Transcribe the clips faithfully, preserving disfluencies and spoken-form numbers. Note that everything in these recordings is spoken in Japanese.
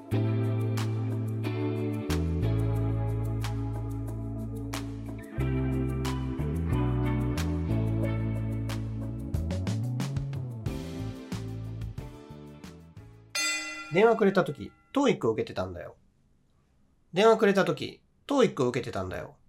電話くれたとき、トーイックを受けてたんだよ。電話くれたとき、トーイックを受けてたんだよ。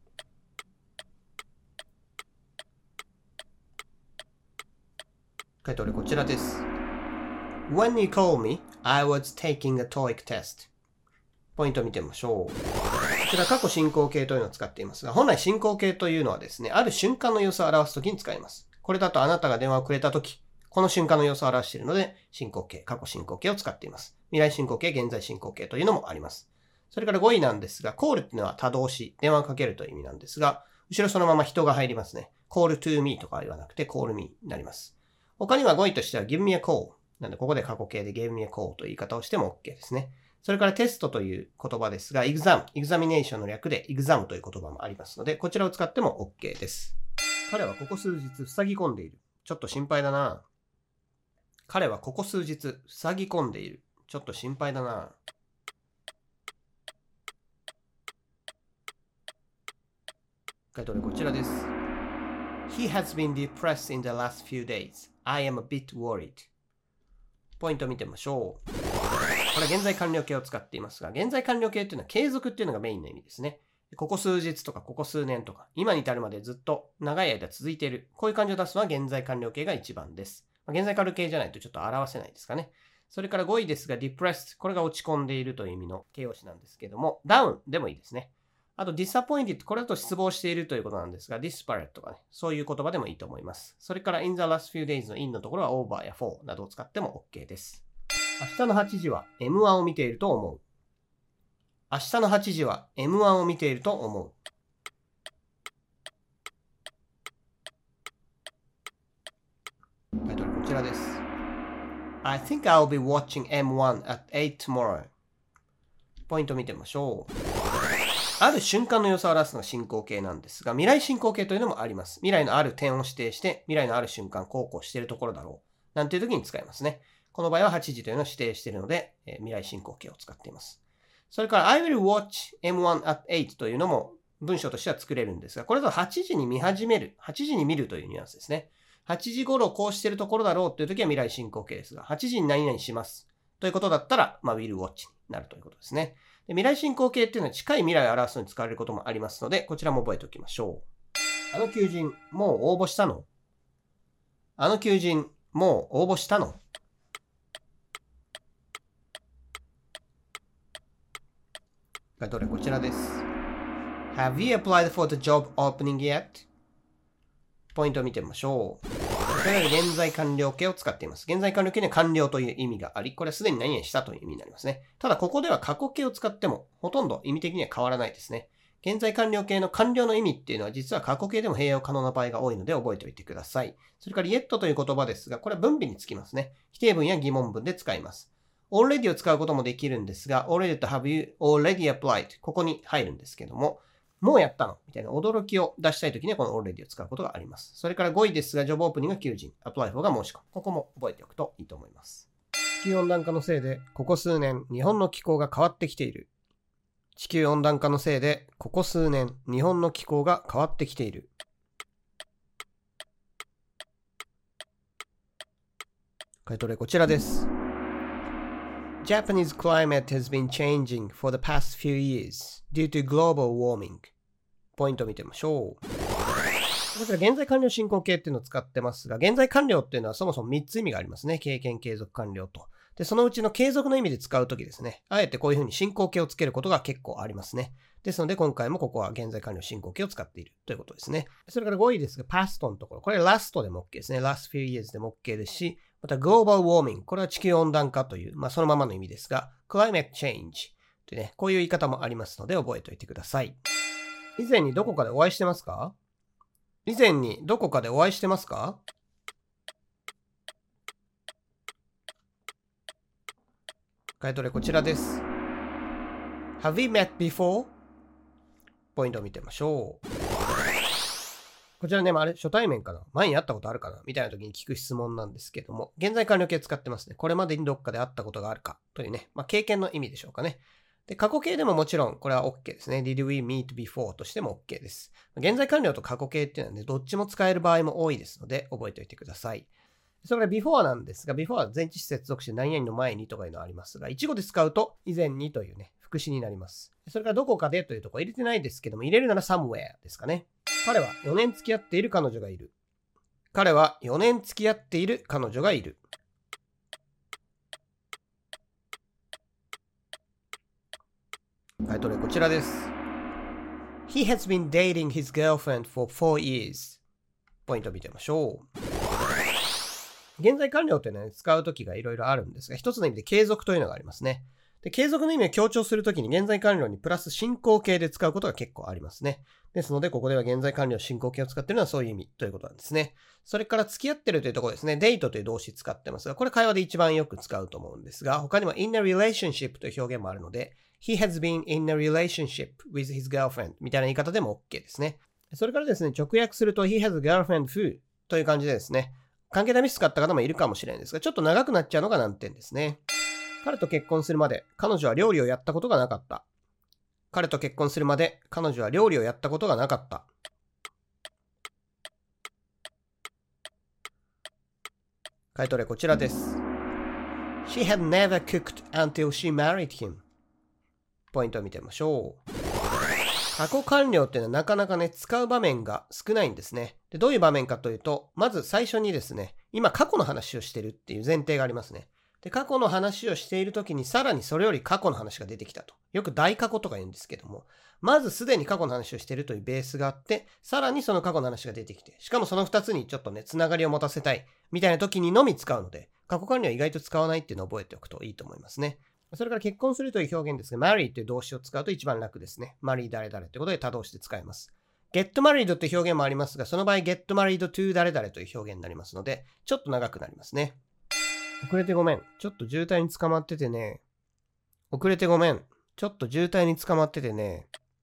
回答例こちらです。When you called me, I was taking a TOEIC test. ポイントを見てみましょう。こちら過去進行形というのを使っていますが、本来進行形というのはですね、ある瞬間の様子を表すときに使います。これだとあなたが電話をくれたとき、この瞬間の様子を表しているので、進行形、過去進行形を使っています。未来進行形、現在進行形というのもあります。それからごいなんですが、call っていうのは他動詞、電話をかけるという意味なんですが、後ろそのまま人が入りますね。call to me とか言わなくて call me になります。他にはごいとしては give me a call。なので、ここで過去形で give me a call という言い方をしても OK ですね。それからテストという言葉ですが、exam、examination の略で exam という言葉もありますので、こちらを使っても OK です。彼はここ数日塞ぎ込んでいる。ちょっと心配だな。彼はここ数日塞ぎ込んでいる。ちょっと心配だな。回答例こちらです。He has been depressed in the last few days. I am a bit worried. ポイントを見てみましょう。これは現在完了形を使っていますが、現在完了形というのは継続っていうのがメインの意味ですね。ここ数日とかここ数年とか、今に至るまでずっと長い間続いている。こういう感じを出すのは現在完了形が一番です。現在完了形じゃないとちょっと表せないですかね。それからごいですが depressed。これが落ち込んでいるという意味の形容詞なんですけども、down でもいいですね。あと disappointed。これだと失望しているということなんですが、disparate とかね、そういう言葉でもいいと思います。それから in the last few days の in のところは over や for などを使っても OK です。明日のはちじは エムワン を見ていると思う。明日のはちじは エムワン を見ていると思う。タイトルこちらです。I think I'll be watching エムワン at eight tomorrow. ポイントを見てみましょう。ある瞬間の様子を表すのが進行形なんですが、未来進行形というのもあります。未来のある点を指定して、未来のある瞬間、こうこうしているところだろう。なんていう時に使いますね。この場合ははちじというのを指定しているので、えー、未来進行形を使っています。それから I will watch エムワン at eight というのも文章としては作れるんですが、これだとはちじに見始める、はちじに見るというニュアンスですね。はちじ頃こうしているところだろうという時は未来進行形ですが、はちじに何々しますということだったら、まあ、will watch になるということですね。で未来進行形っていうのは近い未来を表すのに使われることもありますので、こちらも覚えておきましょう。あの求人、もう応募したの？あの求人、もう応募したの？回答例こちらです。Have you applied for the job opening yet? ポイントを見てみましょう。これは現在完了形を使っています。現在完了形には完了という意味があり、これはすでに何々したという意味になりますね。ただここでは過去形を使ってもほとんど意味的には変わらないですね。現在完了形の完了の意味っていうのは実は過去形でも併用可能な場合が多いので覚えておいてください。それから yet という言葉ですが、これは分尾につきますね。否定文や疑問文で使います。already を使うこともできるんですが、already と have you already applied ここに入るんですけども、もうやったのみたいな驚きを出したいときにはこの already を使うことがあります。それからごいですが、ジョブオープニングが求人、apply for が申し込む。ここも覚えておくといいと思います。地球温暖化のせいで、ここ数年、日本の気候が変わってきている。地球温暖化のせいで、ここ数年、日本の気候が変わってきている。回答例こちらです。Japanese climate has been changing for the past few years due to global warming. ポイントを見てみましょう。こちら現在完了進行形っていうのを使ってますが、現在完了っていうのはそもそもみっつ意味がありますね。経験、継続、完了と。で、そのうちの継続の意味で使うときですね。あえてこういうふうに進行形をつけることが結構ありますね。ですので今回もここは現在完了進行形を使っているということですね。それからごいですが、past のところ。これ last でも OK ですね。last few years でも OK ですし、また global warming。これは地球温暖化という、まあそのままの意味ですが、climate change というね、こういう言い方もありますので覚えておいてください。以前にどこかでお会いしてますか？以前にどこかでお会いしてますか？回答例こちらです。Have we met before? ポイントを見てみましょう。 こちらね、まあ、あれ初対面かな、前に会ったことあるかなみたいな時に聞く質問なんですけども、現在完了形使ってますね。これまでにどっかで会ったことがあるかというね、まあ、経験の意味でしょうかね。で、過去形でももちろんこれは OK ですね。Did we meet before としても OK です。現在完了と過去形っていうのはね、どっちも使える場合も多いですので、覚えておいてください。それから before なんですが、before は前置詞接続詞何々の前にとかいうのがありますが、一語で使うと以前にというね、副詞になります。それからどこかでというところ入れてないですけども、入れるなら somewhere ですかね。彼はよねん付き合っている彼女がいる。彼はよねん付き合っている彼女がいる。回答例こちらです。He has been dating his girlfriend for four years. ポイントを見てみましょう。現在完了というのは、ね、使うときがいろいろあるんですが、一つの意味で継続というのがありますね。で、継続の意味を強調するときに現在完了にプラス進行形で使うことが結構ありますね。ですので、ここでは現在完了進行形を使っているのはそういう意味ということなんですね。それから付き合ってるというところですね。デートという動詞使ってますが、これ会話で一番よく使うと思うんですが、他にも in a relationship という表現もあるので、He has been in a relationship with his girlfriend みたいな言い方でも OK ですね。それからですね、直訳すると He has a girlfriend who という感じでですね、関係代名詞使った方もいるかもしれないですが、ちょっと長くなっちゃうのが難点ですね。彼と結婚するまで彼女は料理をやったことがなかった。彼と結婚するまで彼女は料理をやったことがなかった。回答例こちらです。She had never cooked until she married him. ポイントを見てみましょう。過去完了っていうのはなかなかね、使う場面が少ないんですね。で、どういう場面かというと、まず最初にですね、今過去の話をしてるっていう前提がありますね。で、過去の話をしているときにさらにそれより過去の話が出てきたと。よく大過去とか言うんですけども、まずすでに過去の話をしているというベースがあって、さらにその過去の話が出てきて、しかもそのふたつにちょっとね、つながりを持たせたいみたいな時にのみ使うので、過去完了は意外と使わないっていうのを覚えておくといいと思いますね。それから結婚するという表現ですが、marry という動詞を使うと一番楽ですね。marry 誰々ということで他動詞で使います。get married という表現もありますが、その場合 get married to 誰々という表現になりますので、ちょっと長くなりますね。遅れてごめん。ちょっと渋滞に捕まっててね。遅れてごめん。ちょっと渋滞に捕まっててね。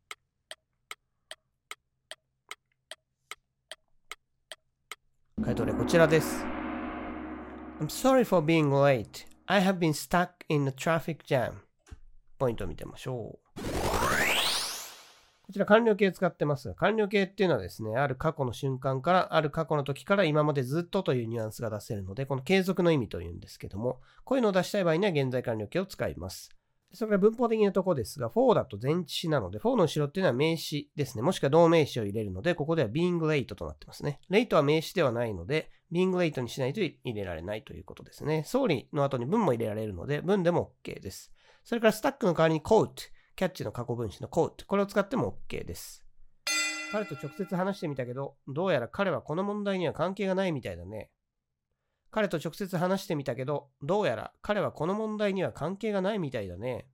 回答例こちらです。I'm sorry for being late.I have been stuck in a traffic jam. ポイントを見てみましょう。こちら完了形使ってますが、完了形っていうのはですね、ある過去の瞬間から、ある過去の時から今までずっとというニュアンスが出せるので、この継続の意味というんですけども、こういうのを出したい場合には現在完了形を使います。それから文法的なところですが、for だと前置詞なので、for の後ろっていうのは名詞ですね。もしくは動名詞を入れるので、ここでは being late となってますね。late は名詞ではないので、being late にしないと入れられないということですね。sorry の後に文も入れられるので、文でも OK です。それから stuck の代わりに quote、キャッチの過去分詞の quote、これを使っても OK です。彼と直接話してみたけど、どうやら彼はこの問題には関係がないみたいだね。彼と直接話してみたけど、どうやら彼はこの問題には関係がないみたいだね。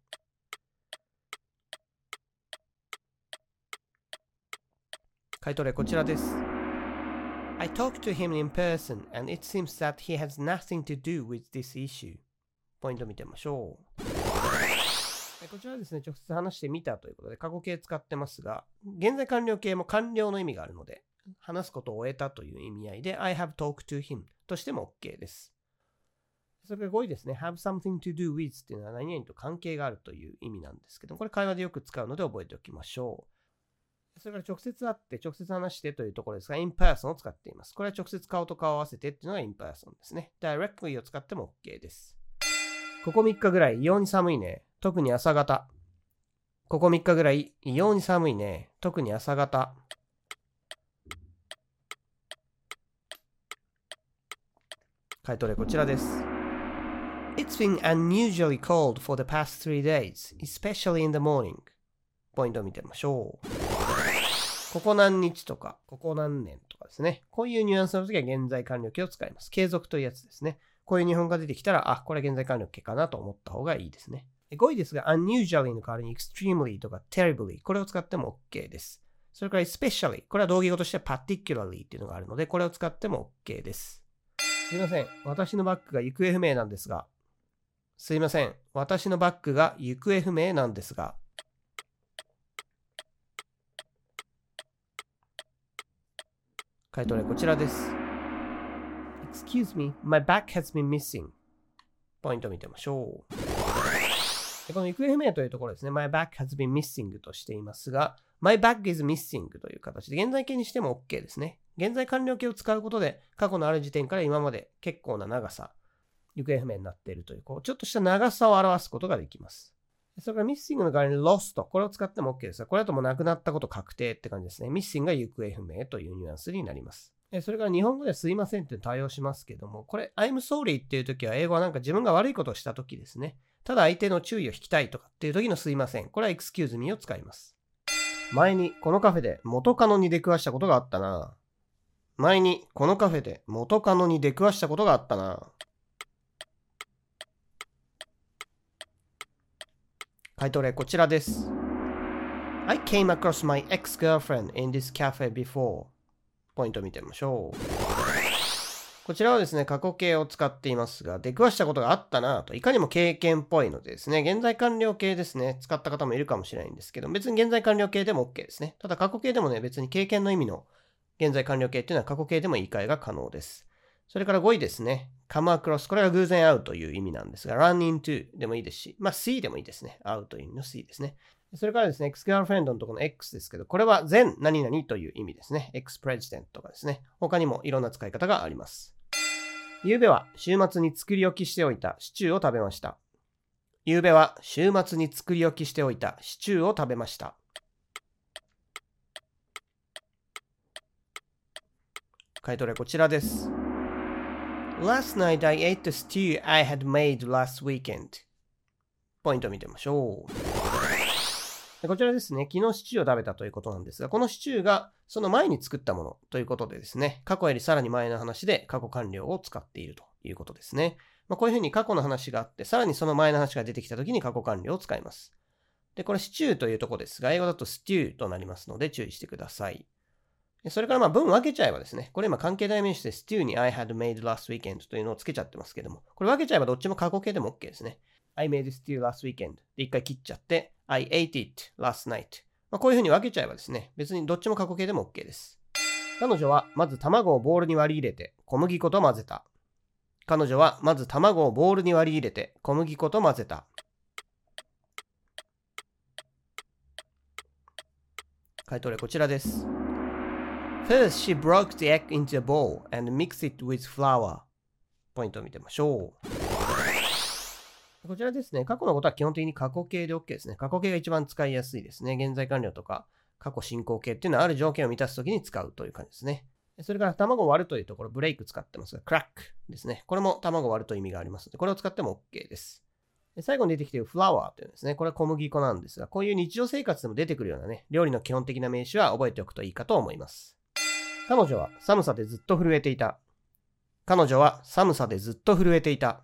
回答例こちらです。I talked to him in person and it seems that he has nothing to do with this issue. ポイント見てみましょう。こちらはですね、直接話してみたということで過去形使ってますが、現在完了形も完了の意味があるので、話すことを終えたという意味合いで I have talked to him としても OK です。それからごいですね。have something to do with っていうのは何々と関係があるという意味なんですけど、これ会話でよく使うので覚えておきましょう。それから直接会って直接話してというところですが、in person を使っています。これは直接顔と顔を合わせてっていうのが in person ですね。directly を使っても OK です。ここみっかぐらい異様に寒いね。特に朝方。ここみっかぐらい異様に寒いね。特に朝方。回答例こちらです。It's been unusually cold for the past three days, especially in the morning. ポイントを見てみましょう。ここ何日とか、ここ何年とかですね。こういうニュアンスの時は現在完了形を使います。継続というやつですね。こういう日本が出てきたら、あ、これ現在完了形かなと思った方がいいですね。ごいですが、unusually の代わりに extremely とか terribly これを使っても OK です。それから especially これは同義語として particularly っていうのがあるので、これを使っても OK です。すいません。私のバッグが行方不明なんですが。すいません。私のバッグが行方不明なんですが。 回答例こちらです。Excuse me, my bag has been missing. ポイントを見てみましょう。でこの行方不明というところですね。My bag has been missing としていますが、My bag is missing という形で現在形にしても OK ですね。現在完了形を使うことで過去のある時点から今まで結構な長さ、行方不明になっているという、こうちょっとした長さを表すことができます。それから missing の代わりに lost これを使っても OK ですが、これだともうなくなったこと確定って感じですね。missing が行方不明というニュアンスになります。それから日本語ではすいませんって対応しますけども、これ I'm sorry っていう時は英語はなんか自分が悪いことをした時ですね。ただ相手の注意を引きたいとかっていう時のすいません。これは excuse me を使います。前にこのカフェで元カノに出くわしたことがあったな。前にこのカフェで元カノに出くわしたことがあったな。回答例こちらです。I came across my ex-girlfriend in this cafe before. ポイントを見てみましょう。こちらはですね、過去形を使っていますが、出くわしたことがあったなと、いかにも経験っぽいのでですね、現在完了形ですね、使った方もいるかもしれないんですけど、別に現在完了形でも OK ですね。ただ過去形でもね、別に経験の意味の現在完了形っていうのは過去形でも言い換えが可能です。それからごいですね、come across、これは偶然会うという意味なんですが、run into でもいいですし、まあ see でもいいですね。会うという意味の see ですね。それからですね、ex-girlfriend のところの X ですけど、これは前何々という意味ですね。ex-president とかですね。他にもいろんな使い方があります。ゆうべは週末に作り置きしておいたシチューを食べました。ゆうべは週末に作り置きしておいたシチューを食べました。回答例こちらです。Last night I ate the stew I had made last weekend. ポイントを見てみましょう。こちらですね、昨日シチューを食べたということなんですが、このシチューがその前に作ったものということでですね、過去よりさらに前の話で過去完了を使っているということですね。まあ、こういうふうに過去の話があって、さらにその前の話が出てきたときに過去完了を使います。で、これシチューというところですが、英語だとステューとなりますので注意してください。それからまあ文分けちゃえばですね、これ今関係代名詞でステューに I had made last weekend というのをつけちゃってますけども、これ分けちゃえばどっちも過去形でも OK ですね。I made stew last weekend で一回切っちゃって、I ate it last night。まあ、こういうふうに分けちゃえばですね、別にどっちも過去形でも OK です。彼女はまず卵をボウルに割り入れて小麦粉と混ぜた。彼女はまず卵をボウルに割り入れて小麦粉と混ぜた。回答例こちらです。First, she broke the egg into a bowl and mixed it with flour. ポイントを見てみましょう。こちらですね、過去のことは基本的に過去形で OK ですね。過去形が一番使いやすいですね。現在完了とか過去進行形っていうのはある条件を満たすときに使うという感じですね。それから卵を割るというところ、ブレイク使ってますが、クラックですね。これも卵を割るという意味がありますので、これを使っても OK です。最後に出てきているフラワーというのですね。これは小麦粉なんですが、こういう日常生活でも出てくるようなね、料理の基本的な名詞は覚えておくといいかと思います。彼女は寒さでずっと震えていた。彼女は寒さでずっと震えていた。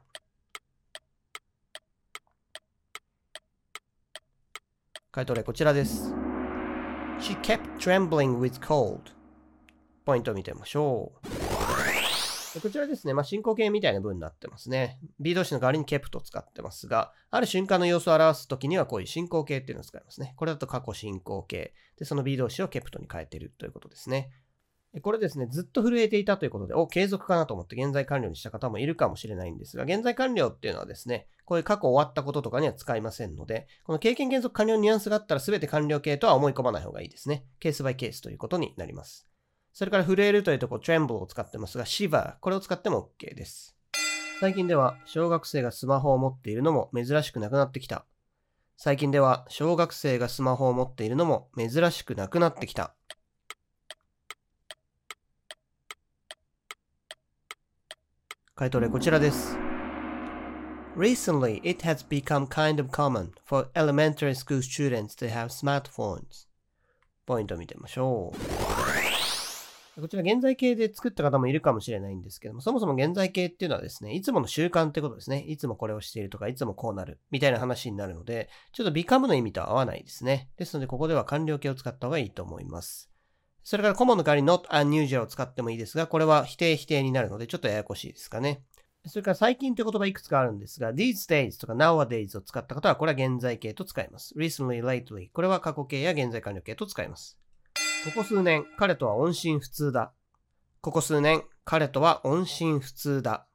回答例こちらです。She kept trembling with cold. ポイントを見てみましょう。こちらですね、まあ、進行形みたいな文になってますね。B 動詞の代わりに kept を使ってますが、ある瞬間の様子を表すときにはこういう進行形っていうのを使いますね。これだと過去進行形。で、その B 動詞を kept に変えているということですね。これですね、ずっと震えていたということで、お、継続かなと思って現在完了にした方もいるかもしれないんですが、現在完了っていうのはですね、こういう過去終わったこととかには使いませんので、この経験継続完了のニュアンスがあったら全て完了形とは思い込まない方がいいですね。ケースバイケースということになります。それから震えるというところ、tremble を使ってますが、shiver、これを使っても OK です。最近では小学生がスマホを持っているのも珍しくなくなってきた。最近では小学生がスマホを持っているのも珍しくなくなってきた。回答例こちらです。Recently, it has become kind of common for elementary school students to have smartphones. ポイントを見てみましょう。こちら現在形で作った方もいるかもしれないんですけども、そもそも現在形っていうのはですね、いつもの習慣ってことですね。いつもこれをしているとか、いつもこうなるみたいな話になるので、ちょっと become の意味とは合わないですね。ですので、ここでは完了形を使った方がいいと思います。それからコモンの代わりに not unusual を使ってもいいですが、これは否定否定になるのでちょっとややこしいですかね。それから最近という言葉いくつかあるんですが、these days とか nowadays を使った方はこれは現在形と使います。recently, lately これは過去形や現在完了形と使います。ここ数年、彼とは音信不通だ。 ここ数年、彼とは音信不通だ。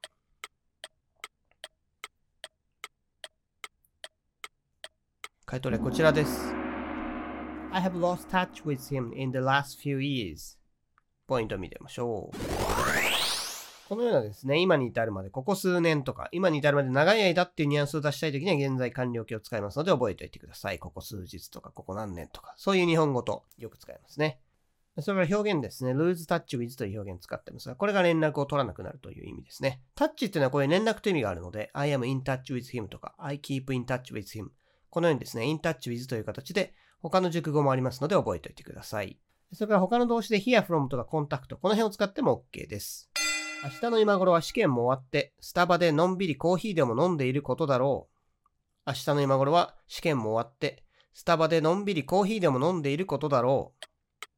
回答例こちらです。I have lost touch with him in the last few years. ポイントを見てみましょう。このようなですね、今に至るまで、ここ数年とか、今に至るまで長い間っていうニュアンスを出したいときには現在完了形を使いますので覚えておいてください。ここ数日とか、ここ何年とか、そういう日本語とよく使いますね。それから表現ですね。lose touch with という表現を使ってますが、これが連絡を取らなくなるという意味ですね。タッチっていうのはこういう連絡という意味があるので、I am in touch with him とか、I keep in touch with him。このようにですね、in touch with という形で他の熟語もありますので覚えておいてください。それから他の動詞で hear from とか contact、この辺を使っても OK です。明日の今頃は試験も終わって、スタバでのんびりコーヒーでも飲んでいることだろう。明日の今頃は試験も終わって、スタバでのんびりコーヒーでも飲んでいることだろう。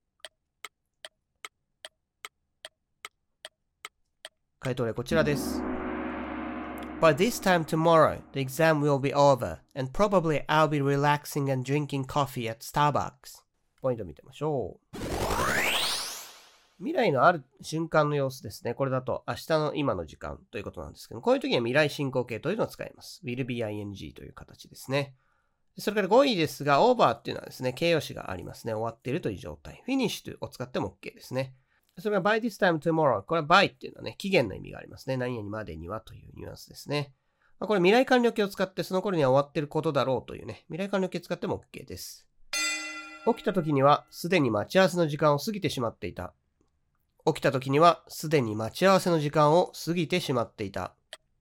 回答例こちらです。By this time tomorrow, the exam will be over, and probably I'll be relaxing and drinking coffee at Starbucks. ポイントを見てみましょう。未来のある瞬間の様子ですね。これだと明日の今の時間ということなんですけど、こういう時には未来進行形というのを使います。will be ing という形ですね。それからごいですが、over っていうのはですね、形容詞がありますね。終わっているという状態。finished を使っても OK ですね。それから by this time tomorrow。これは by っていうのはね、期限の意味がありますね。何々までにはというニュアンスですね。これ未来完了形を使ってその頃には終わっていることだろうというね、未来完了形を使っても OK です。起きた時にはすでに待ち合わせの時間を過ぎてしまっていた。起きた時にはすでに待ち合わせの時間を過ぎてしまっていた。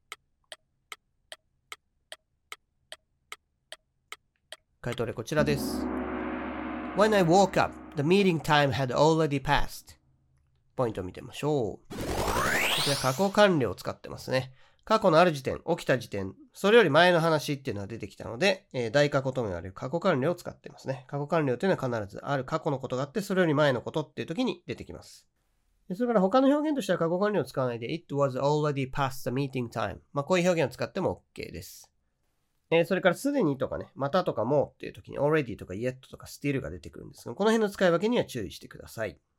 回答例こちらです。When I woke up, the meeting time had already passed. ポイントを見てみましょう。こちら過去完了を使ってますね。過去のある時点、起きた時点、それより前の話っていうのが出てきたので、えー、大過去とも言われる過去完了を使ってますね。過去完了というのは必ずある過去のことがあって、それより前のことっていう時に出てきます。それから他の表現としては過去完了を使わないで It was already past the meeting time。まあこういう表現を使っても OK です。えー、それからすでにとかね、またとかもっていう時に already とか yet とか still が出てくるんですが、この辺の使い分けには注意してください。